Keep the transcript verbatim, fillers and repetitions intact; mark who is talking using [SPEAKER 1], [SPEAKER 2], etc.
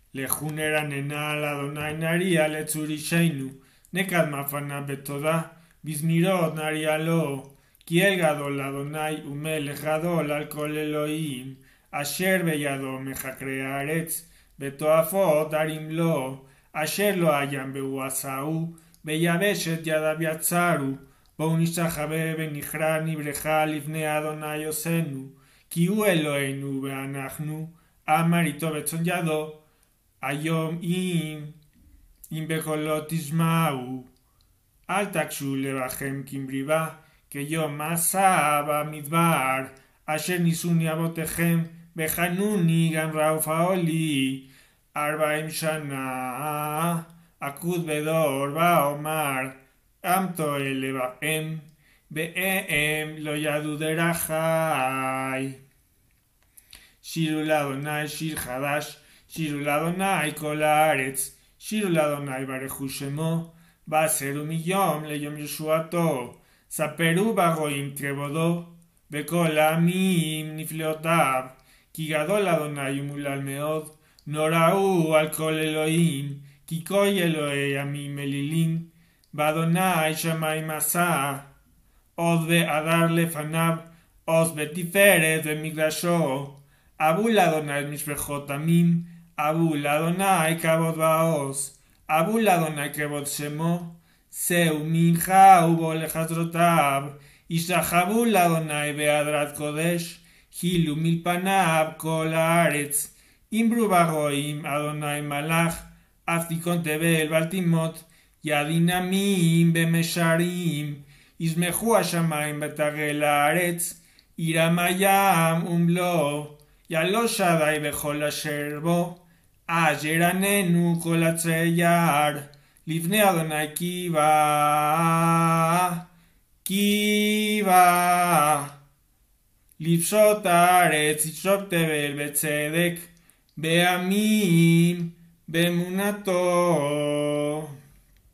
[SPEAKER 1] Lejunera nenal Adonai nari aletzuri sheinu, nekad mafana betoda, bizmirot nari alo, kiel gadol Adonai umelech gadol al kol Elohim, asher beyado mechakrea aretz, betoafot arim lo, asher lo hayan beuasau, beyabeshet yadav yatzaru, בואו נשתחווה ונכרע נברכה לפני אדוני עושנו, כי הוא אלוהינו ואנחנו, אמר איתו בצאן ידו, היום אם, אם בקולו תשמעו, אל תקשו לבכם כמריבה, כיום מסע במדבר, אשר ניסוני אבותיכם, וחנוני גם רעופה לי, ארבעים שנה, אקוד בדור ואומר, עם טועה לבהם, בהם לא ידעו דרכי. שירו לאדוני שיר חדש, שירו לאדוני כל הארץ, שירו לאדוני ברכו שמו, בעשרו מיום ליום ישועתו, ספרו בגויים כבודו, בכל העמים נפלאותיו, כי גדול אדוני ומולל מאוד, נוראו על כל אלוהים, כי כל אלוהי עמים אלילים, באדוני שמיים עשה, עוז והדר לפניו, עוז בתפארת במקדשו, אבו לאדוני משפחות עמים, אבו לאדוני כבוד ועוז, אבו לאדוני כבוד שמו, שאו מנחה ובואו לחצרותיו, השתחוו לאדוני בהדרת קודש, חילו מלפניו כל הארץ, אמרו בגויים אדוני מלך, אף תיכון תבל ואל תימות, ידין עמים במשרים, ישמחו השמיים ותגל הארץ, ירם הים ומלוא, יעלו שדי בכל אשר בו, אשר עננו כל עצי יער, לפני אדוני קיבה, קיבה, לפשוט הארץ, ישוב תבל בצדק, בעמים, באמונתו.